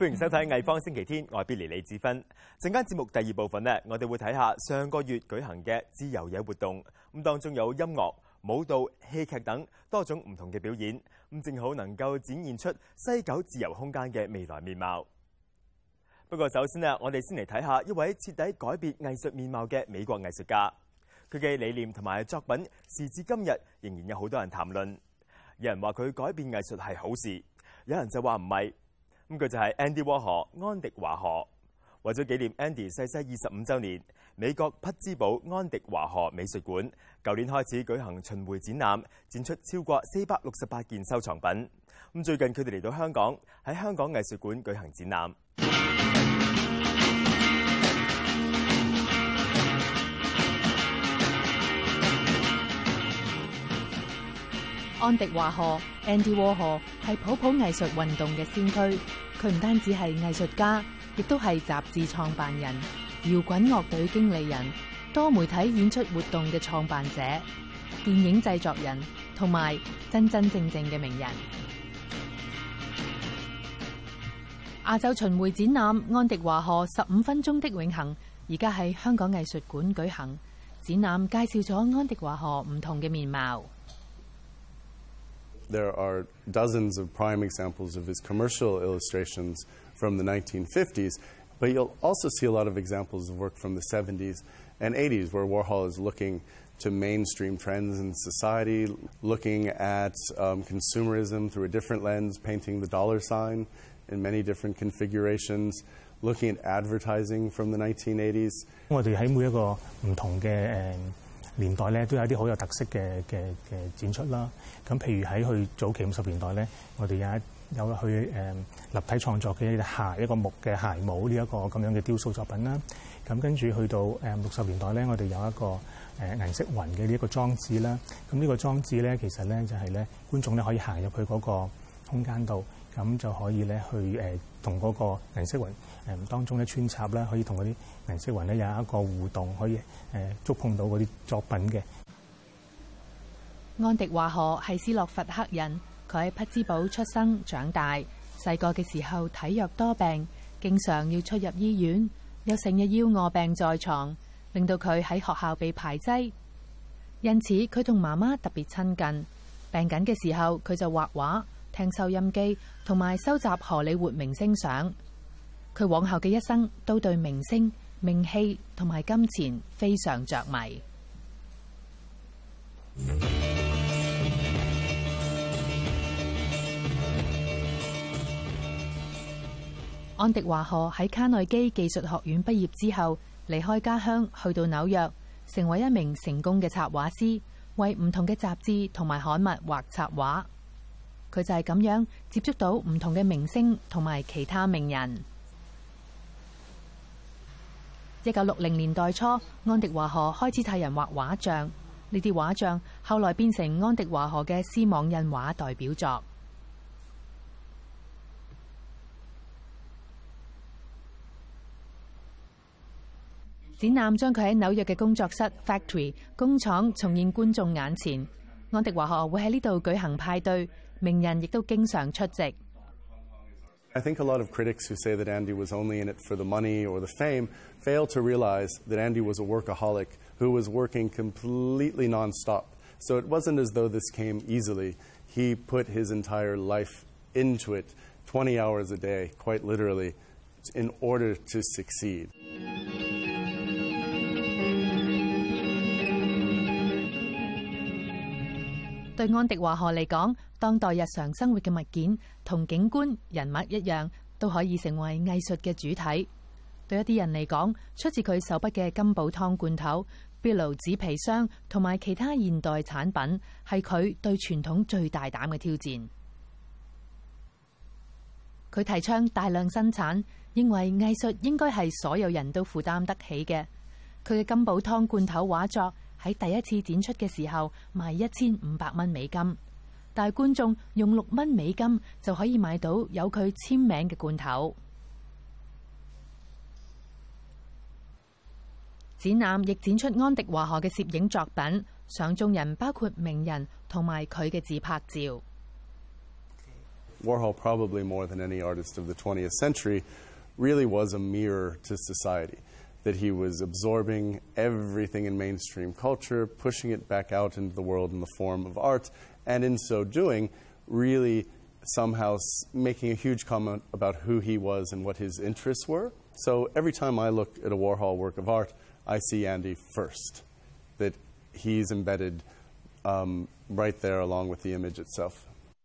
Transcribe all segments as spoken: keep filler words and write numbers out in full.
歡迎收睇藝方星期天，我係 Billy 李志芬。陣間節目第二部分呢，我哋會睇下上個月舉行嘅自由野活動，咁當中有音樂、舞蹈、戲劇等多種唔同嘅表演，咁正好能夠展現出西九自由空間嘅未來面貌。不過首先呢，我哋先嚟睇下一位徹底改變藝術面貌嘅美國藝術家，佢嘅理念同埋作品時至今日仍然有好多人談論。有人話佢改變藝術係好事，有人就話唔係。咁佢就係 Andy Warhol 安迪華荷。為咗紀念 Andy 逝世二十五週年，美國匹茲堡安迪華荷美術館舊年開始舉行巡迴展覽，展出超過四百六十八件收藏品。咁最近佢哋嚟到香港，喺香港藝術館舉行展覽。 安迪華荷 Andy Warhol 係普普藝術運動嘅先驅，佢唔單止係藝術家，亦都係雜誌創辦人、搖滾樂隊經理人、多媒體演出活動嘅創辦者、電影製作人，同埋真真正正嘅名人。亞洲巡迴展覽安迪華荷十五分鐘的永恆，而家喺香港藝術館舉行。展覽介紹咗安迪華荷唔同嘅面貌。 There are dozens of prime examples of his commercial illustrations from the nineteen fifties, but you'll also see a lot of examples of work from the seventies and eighties where Warhol is looking to mainstream trends in society, looking at um, consumerism through a different lens, painting the dollar sign in many different configurations, looking at advertising from the nineteen eighties. 我哋喺每一個唔同嘅誒年代咧，都有一啲好有特色嘅嘅嘅展出啦。咁譬如喺佢早期五十年代咧，我哋有一有去誒、呃、立體創作嘅一隻鞋，一個木嘅鞋帽呢一個咁樣嘅雕塑作品啦。咁跟住去到誒六十年代咧，我哋有一個誒、呃、銀色雲嘅呢一個裝置啦。咁呢個裝置咧，其實咧就係、是、咧觀眾咧可以行入去嗰個空間度，咁就可以咧去誒同嗰個銀色雲誒、呃、當中咧穿插啦，可以同嗰啲銀色雲咧有一個互動，可以誒、呃、觸碰到嗰啲作品嘅。 安迪華荷係斯洛伐克人，佢喺匹茲堡出生長大。細個嘅時候體弱多病，經常要出入醫院，又成日要臥病在床，令到佢喺學校被排擠。因此佢同媽媽特別親近。病緊嘅時候，佢就畫畫、聽收音機，同埋收集荷里活明星相。佢往後嘅一生都對明星、名氣同埋金錢非常着迷。安迪華荷喺卡內基技術學院畢業之後，離開家鄉去到紐約，成為一名成功嘅插畫師，為唔同嘅雜誌同埋刊物畫插畫。佢就係咁樣接觸到唔同嘅明星同埋其他名人。一九六零年代初，安迪華荷開始替人畫畫像，呢啲畫像後來變成安迪華荷嘅絲網印畫代表作。展覽將佢喺紐約嘅工作室 Factory 工廠重現觀眾眼前。安迪華荷會喺呢度舉行派對，名人亦都經常出席。 I think a lot of critics who say that Andy was only in it for the money or the fame fail to realize that Andy was a workaholic who was working completely nonstop. So it wasn't as though this came easily. He put his entire life into it, twenty hours a day, quite literally, in order to succeed. 對安迪華荷嚟講，當代日常生活嘅物件同景觀、人物一樣，都可以成為藝術嘅主體。對一啲人嚟講，出自佢手筆嘅金寶湯罐頭、Billo 紙皮箱同埋其他現代產品，係佢對傳統最大膽嘅挑戰。佢提倡大量生產，認為藝術應該係所有人都負擔得起嘅。佢嘅金寶湯罐頭畫作喺第一次展出嘅時候賣一千五百蚊美金，但係觀眾用六蚊美金就可以買到有佢簽名嘅罐頭。展覽亦展出安迪華荷嘅攝影作品，相中人包括名人同埋佢嘅自拍照。 Warhol, probably more than any artist of the twentieth century, really was a mirror to society, that he was absorbing everything in mainstream culture, pushing it back out into the world in the form of art, and in so doing, really somehow making a huge comment about who he was and what his interests were. So every time I look at a Warhol work of art, I see Andy first, that he's embedded um, right there along with the image itself.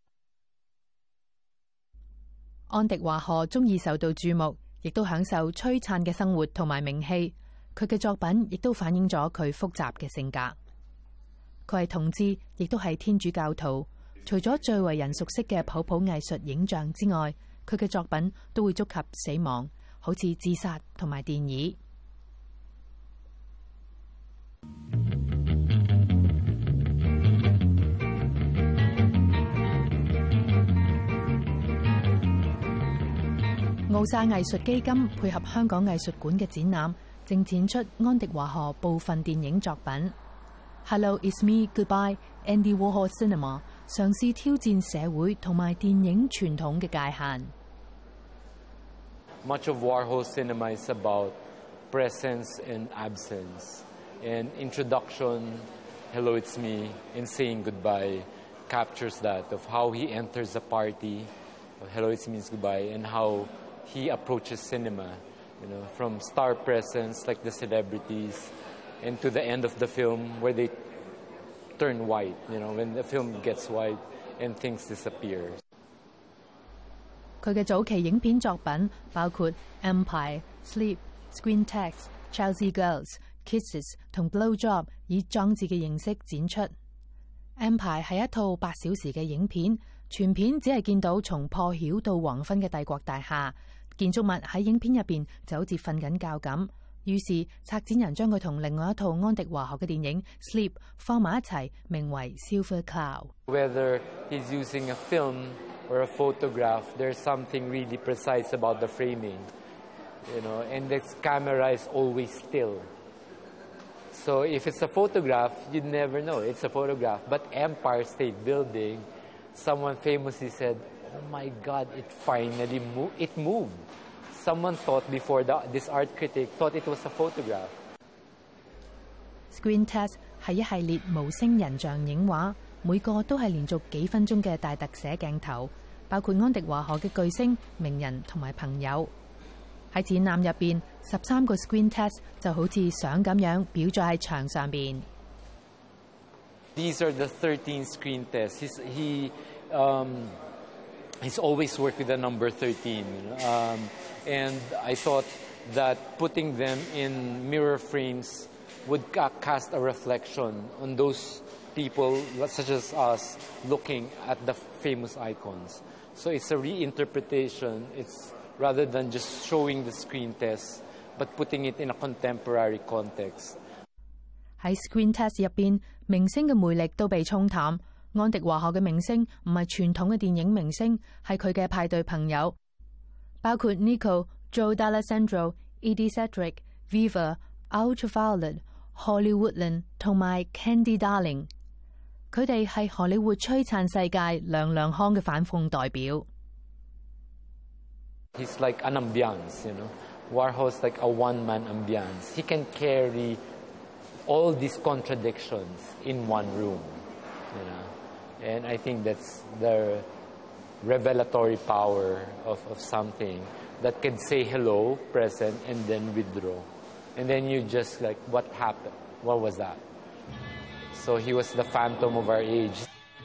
安迪華荷鍾意受到注目，亦都享受璀璨嘅生活同埋名氣。佢嘅作品亦都反映咗佢複雜嘅性格。佢係同志，亦都係天主教徒。除咗最為人熟悉嘅普普藝術影像之外，佢嘅作品都會觸及死亡，好似自殺同埋電椅。奧沙藝術基金配合香港藝術館嘅展覽，正展出安迪華荷部分電影作品。Hello, it's me, goodbye, Andy Warhol Cinema 嘗試挑戰社會同埋電影傳統嘅界限。 Much of Warhol cinema is about presence and absence. And introduction, Hello, it's me, and saying goodbye captures that of how he enters a party. Hello, it's me, goodbye, and how he approaches cinema, you know, from star presence like the celebrities, and to the end of the film where they turn white, you know, when the film gets white and things disappear. 佢嘅早期影片作品包括 Empire、Sleep、Screen Text、Chelsea Girls、Kisses 同 Blowjob 以裝置嘅形式展出。Empire 係一套八小時嘅影片，全片只係見到從破曉到黃昏嘅帝國大廈，建築物喺影片入邊就好似瞓緊覺咁。於是策展人將佢同另外一套安迪華荷嘅電影 Sleep 放埋一齊，名為 Silver Cloud。 Whether he's using a film or a photograph, there's something really precise about the framing, you know, and the camera is always still. So if it's a photograph, you'd never know it's a photograph. But Empire State Building, someone famously said, "Oh my God, it finally moved. It moved." Someone thought before, the, this art critic thought it was a photograph. Screen Test 係一系列無聲人像影畫，每個都係連續幾分鐘嘅大特寫鏡頭，包括安迪華荷嘅巨星、名人同埋朋友。喺展覽入邊，十三個 Screen Test 就好似相咁樣裱咗喺牆上邊。 These are the thirteen screen tests. He's, he, um, he's always worked with the number thirteen. Um, and I thought that putting them in mirror frames would ca cast a reflection on those people, such as us, looking at the famous icons. So it's a reinterpretation. It's rather than just showing the screen test, but putting it in a contemporary context. 喺 Screen Test 入邊，明星嘅魅力都被沖淡。安迪華荷嘅明星唔係傳統嘅電影明星，係佢嘅派對朋友，包括 Nico、Joe D'Alessandro、Edie Sedgwick、Viva、Ultraviolet、Holly Woodland 同埋 Candy Darling。佢哋係荷里活璀璨世界亮亮康嘅反諷代表。 He's like an ambiance, you know. Warhol's like a one-man ambiance. He can carry all these contradictions in one room, you know. And I think that's the revelatory power of, of something that can say hello, present, and then withdraw. And then you just like, what happened? What was that? So he was the phantom of our age.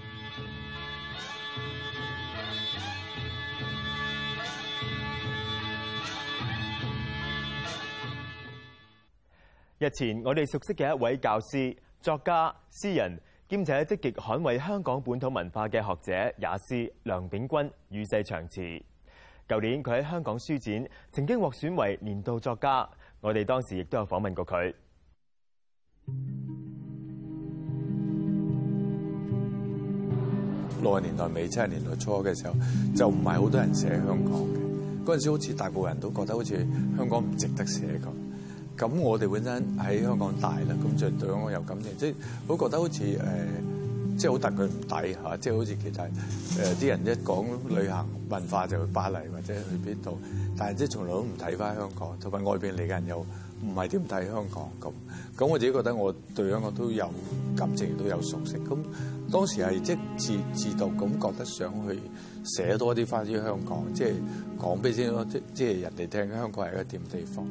日前，我哋熟悉嘅一位教師、作家、詩人，兼且積極捍衛香港本土文化嘅學者也斯梁秉鈞與世長辭。舊年佢喺香港書展曾經獲選為年度作家，我哋當時亦都有訪問過佢。 六十年代尾、七十年代初嘅時候，就唔係好多人寫香港嘅。嗰陣時好似大部分人都覺得好似香港唔值得寫咁。咁我哋本身喺香港大啦，咁就對香港有感情，即係我覺得好似誒即係好戥佢唔抵嚇，即係好似其他誒啲人一講旅行文化就去巴黎或者去邊度，但係即係從來都唔睇翻香港，同埋外邊嚟嘅人又唔係點睇香港咁。咁我自己覺得我對香港都有感情，都有熟悉。咁當時係即係自自動咁覺得想去寫多啲翻於香港，即係講俾先咯，即即係人哋聽香港係一個點地方。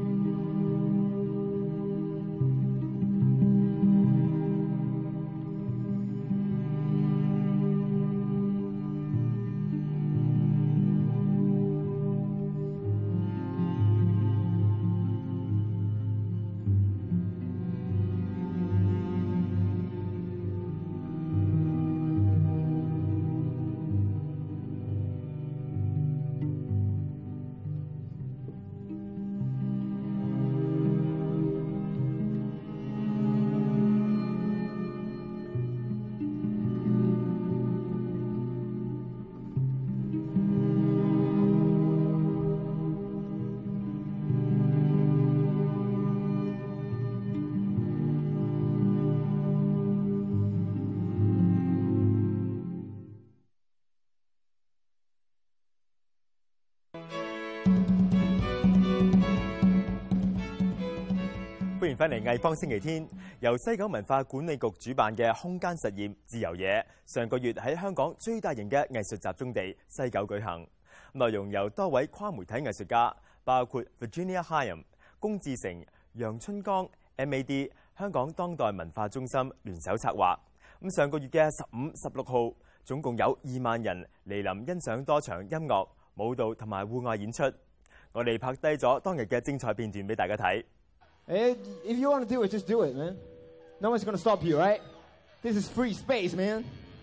歡迎翻嚟藝坊星期天，由西九文化管理局主辦嘅空間實驗自由野，上個月喺香港最大型嘅藝術集中地西九舉行。內容由多位跨媒體藝術家，包括 Virginia Hyam、龔志成、楊春江、M A D、香港當代文化中心聯手策劃。咁上個月嘅十五、十六號，總共有二萬人嚟臨欣賞多場音樂、舞蹈同埋戶外演出。我哋拍低咗當日嘅精彩片段俾大家睇。 If you want to do it, just do it, man. No one's going to stop you, right? This is free space, man.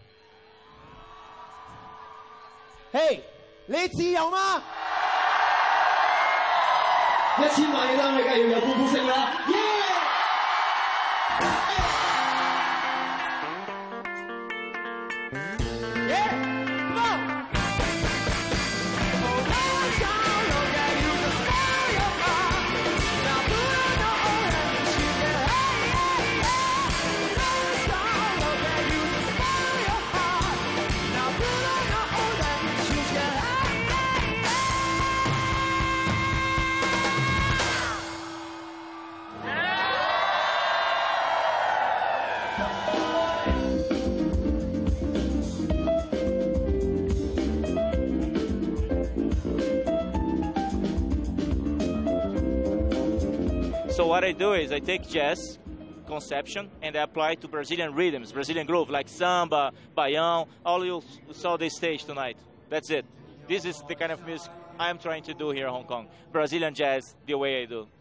Hey, 你自由嗎？一千萬嘅單位梗係要有歡呼聲啦！ So what I do is I take jazz conception and I apply it to Brazilian rhythms, Brazilian groove, like samba, baião, all you saw this stage tonight. That's it. This is the kind of music I'm trying to do here in Hong Kong. Brazilian jazz, the way I do.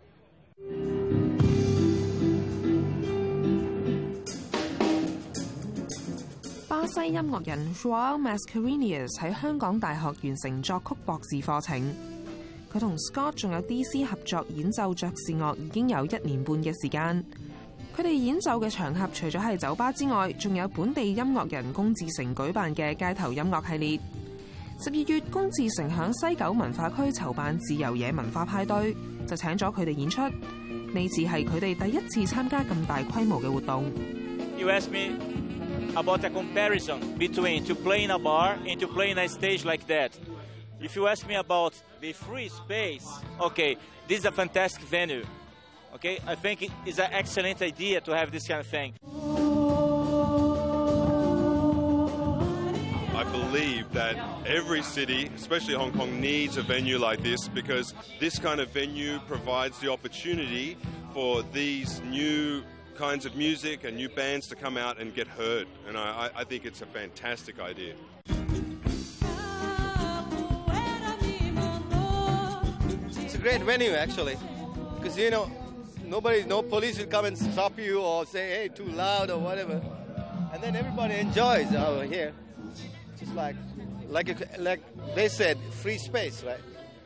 巴西音樂人 João Mascarenhas 喺香港大學完成作曲博士課程。佢同 Scott 仲有 D C 合作演奏爵士樂已經有一年半嘅時間。佢哋演奏嘅場合除咗係酒吧之外，仲有本地音樂人龔志成舉辦嘅街頭音樂系列。十二月，龔志成響西九文化區籌辦自由野文化派對，就請咗佢哋演出。呢次係佢哋第一次參加咁大規模嘅活動。 You ask me about a comparison between to play in a bar and to play in a stage like that. If you ask me about the free space, okay, this is a fantastic venue. Okay, I think it is an excellent idea to have this kind of thing. I believe that every city, especially Hong Kong, needs a venue like this because this kind of venue provides the opportunity for these new kinds of music and new bands to come out and get heard. And I, I think it's a fantastic idea. It's a great venue, actually, because, you know, nobody, no police will come and stop you or say, hey, too loud or whatever. And then everybody enjoys over here. Just like, like, a, like they said, free space, right?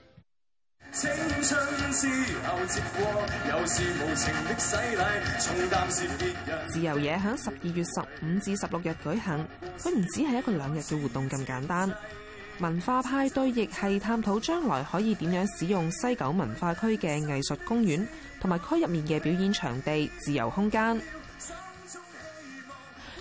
自由野響十二月十五至十六日舉行，佢唔只係一個兩日嘅活動咁簡單。文化派對亦係探討將來可以點樣使用西九文化區嘅藝術公園同埋區入面嘅表演場地自由空間。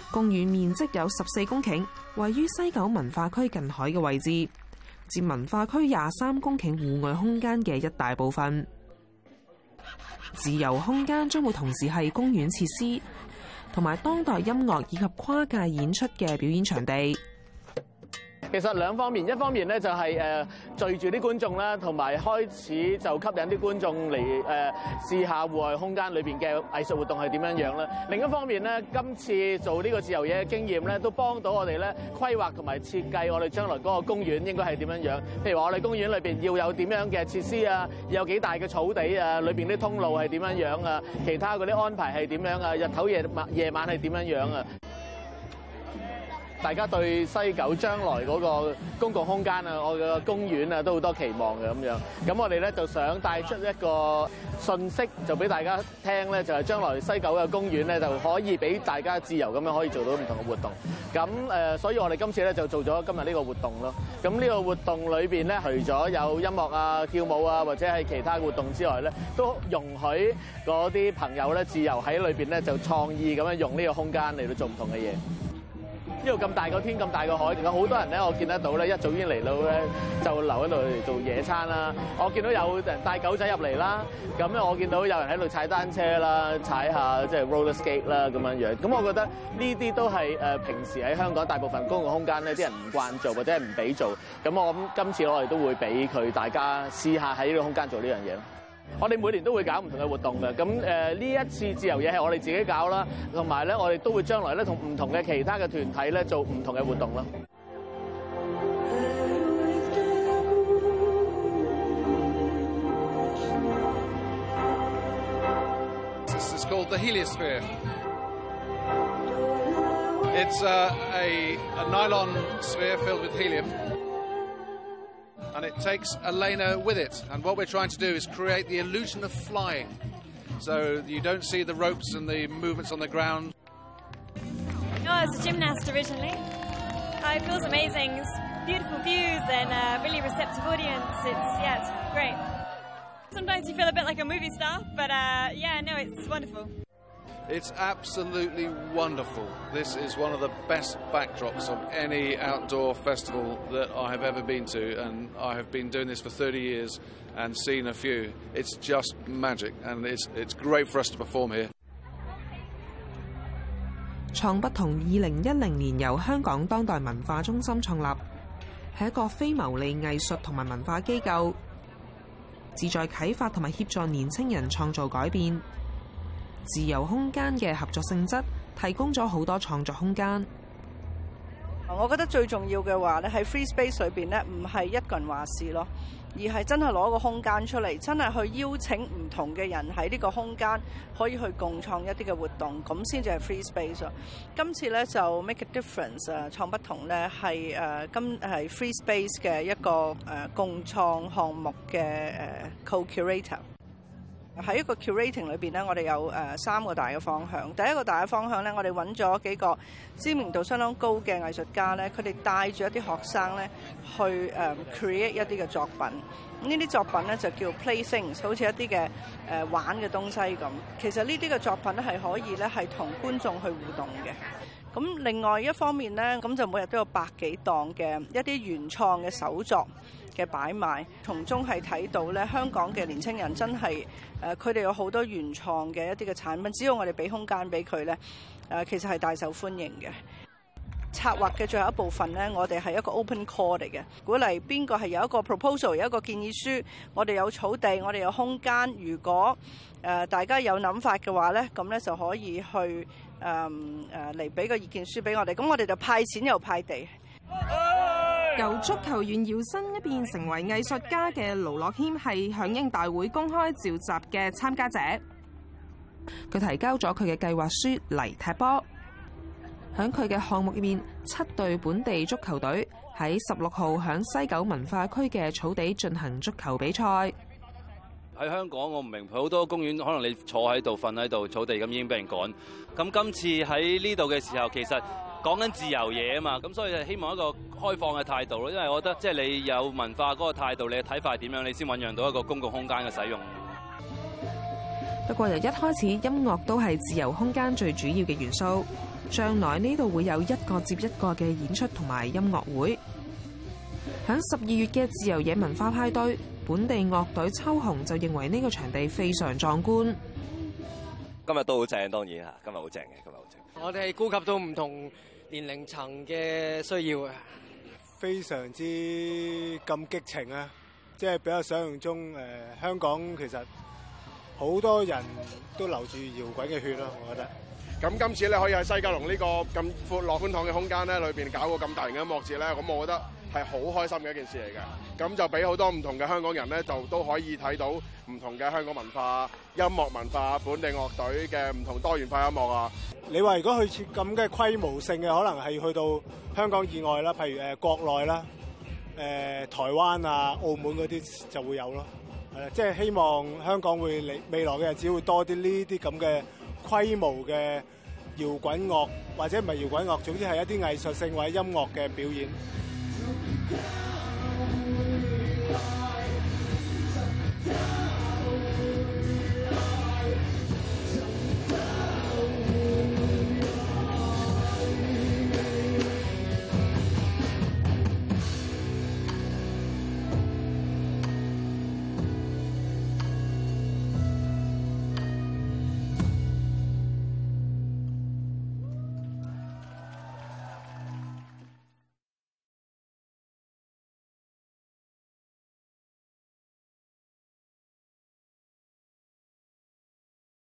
公園面積有十四公頃，位於西九文化區近海嘅位置，佔文化區廿三公頃戶外空間嘅一大部分。自由空間將會同時係公園設施，同埋當代音樂以及跨界演出嘅表演場地。 其實兩方面，一方面咧就係誒聚住啲觀眾啦，同埋開始就吸引啲觀眾嚟誒試下戶外空間裏邊嘅藝術活動係點樣樣啦。另一方面咧，今次做呢個自由嘢嘅經驗咧，都幫到我哋咧規劃同埋設計我哋將來嗰個公園應該係點樣樣。譬如話我哋公園裏邊要有點樣嘅設施啊，要有幾大嘅草地啊，裏邊啲通路係點樣樣啊，其他嗰啲安排係點樣啊，日頭夜晚夜晚係點樣樣啊。大家對西九將來嗰個公共空間啊，我嘅公園啊，都好多期望嘅咁樣。咁我哋咧就想帶出一個訊息，就俾大家聽咧，就係將來西九嘅公園咧，就可以俾大家自由咁樣可以做到唔同嘅活動。咁誒，所以我哋今次咧就做咗今日呢個活動咯。咁呢個活動裏邊咧，除咗有音樂啊、跳舞啊，或者係其他活動之外咧，都容許嗰啲朋友咧自由喺裏邊咧就創意咁樣用呢個空間嚟到做唔同嘅嘢。呢度咁大個天咁大個海，有好多人咧，我見得到咧，一早已經嚟到咧，就留喺度嚟做野餐啦。我見到有人帶狗仔入嚟啦，咁咧我見到有人喺度踩單車啦，踩下即係 roller skate 啦咁樣樣。咁我覺得呢啲都係誒平時喺香港大部分公共空間咧，啲人唔慣做或者係唔俾做。咁我諗今次我哋都會俾佢大家試下喺呢個空間做呢樣嘢咯。我哋每年都會搞唔同嘅活動嘅，咁誒呢一次自由嘢係我哋自己搞啦，同埋咧我哋都會將來咧同唔同嘅其他嘅團體咧做唔同嘅活動啦。 This is called the heliosphere. It's uh, a, a nylon sphere filled with helium. And it takes Elena with it. And what we're trying to do is create the illusion of flying. So you don't see the ropes and the movements on the ground. Oh, I was a gymnast originally. Uh, it feels amazing. It's beautiful views and a really receptive audience. It's, yeah, it's great. Sometimes you feel a bit like a movie star, but uh, yeah, no, it's wonderful. It's absolutely wonderful. This is one of the best backdrops of any outdoor festival that I have ever been to, and I have been doing this for thirty years and seen a few. It's just magic, and it's, it's great for us to perform here. 創不同二零一零年由香港當代文化中心創立，係一個非牟利藝術同埋文化機構，旨在啟發同埋協助年青人創造改變。自由空間嘅合作性質提供咗好多創作空間。 我覺得最重要嘅話咧，喺 free space 裏邊咧，唔係一個人話事咯，而係真係攞個空間出嚟，真係去邀請唔同嘅人喺呢個空間可以去共創一啲嘅活動，咁先至係 free space 咯。今次咧就 make a difference 啊，創不同咧係誒今係 free space 嘅一個誒共創項目嘅誒 co-curator。喺一個 curating 裏邊咧，我哋有誒三個大嘅方向。第一個大嘅方向咧，我哋揾咗幾個知名度相當高嘅藝術家咧，佢哋帶住一啲學生咧去誒 create 一啲嘅作品。呢啲作品咧就叫 play things， 好似一啲嘅誒玩嘅東西咁。其實呢啲嘅作品咧係可以咧係同觀眾去互動嘅。咁另外一方面咧，咁就每日都有百幾檔嘅一啲原創嘅手作嘅擺賣，從中係睇到咧香港嘅年青人真係誒，佢哋有好多原創嘅一啲嘅產品，只要我哋俾空間俾佢咧，誒其實係大受歡迎嘅。策劃嘅最後一部分咧，我哋係一個 open call 嚟嘅，鼓勵邊個係有一個 proposal， 有一個建議書，我哋有草地，我哋有空間，如果誒大家有諗法嘅話咧，咁咧就可以去誒誒嚟俾個意見書俾我哋，咁我哋就派錢又派地。 由足球員搖身一變成為藝術家嘅盧樂謙係響應大會公開召集嘅參加者，佢提交咗佢嘅計劃書嚟踢波。喺佢嘅項目入面，七隊本地足球隊喺十六號響西九文化區嘅草地進行足球比賽。 喺香港，我唔明好多公園，可能你坐喺度、瞓喺度，草地咁已經俾人趕。咁今次喺呢度嘅時候，其實講緊自由嘢啊嘛，咁所以就希望一個開放嘅態度咯。因為我覺得即係你有文化嗰個態度，你嘅睇法係點樣，你先醖釀到一個公共空間嘅使用。 不過由一開始，音樂都係自由空間最主要嘅元素。 將來呢度會有一個接一個嘅演出同埋音樂會。響十二月嘅自由野文化派對，本地樂隊秋紅就認為呢個場地非常壯觀。 今日都好正，當然嚇，今日好正嘅，今日好正。 我哋顧及到唔同年齡層嘅需要啊， 非常之咁激情啊！即係比較想象中誒、呃，香港其實好多人都流住搖滾嘅血咯，我覺得。 咁今次咧可以喺西九龍呢個咁闊落寬敞嘅空間咧，裏邊搞個咁大型嘅音樂節咧，咁我覺得係好開心嘅一件事嚟嘅。咁就俾好多唔同嘅香港人咧，就都可以睇到唔同嘅香港文化、音樂文化、本地樂隊嘅唔同多元化音樂啊。 你話如果去設咁嘅規模性嘅，可能係去到香港以外啦，譬如誒國內啦、誒、呃、台灣啊、澳門嗰啲就會有咯。係啦，即係希望香港會嚟未來嘅日子會多啲呢啲咁嘅規模嘅搖滾樂，或者唔係搖滾樂，總之係一啲藝術性或者音樂嘅表演。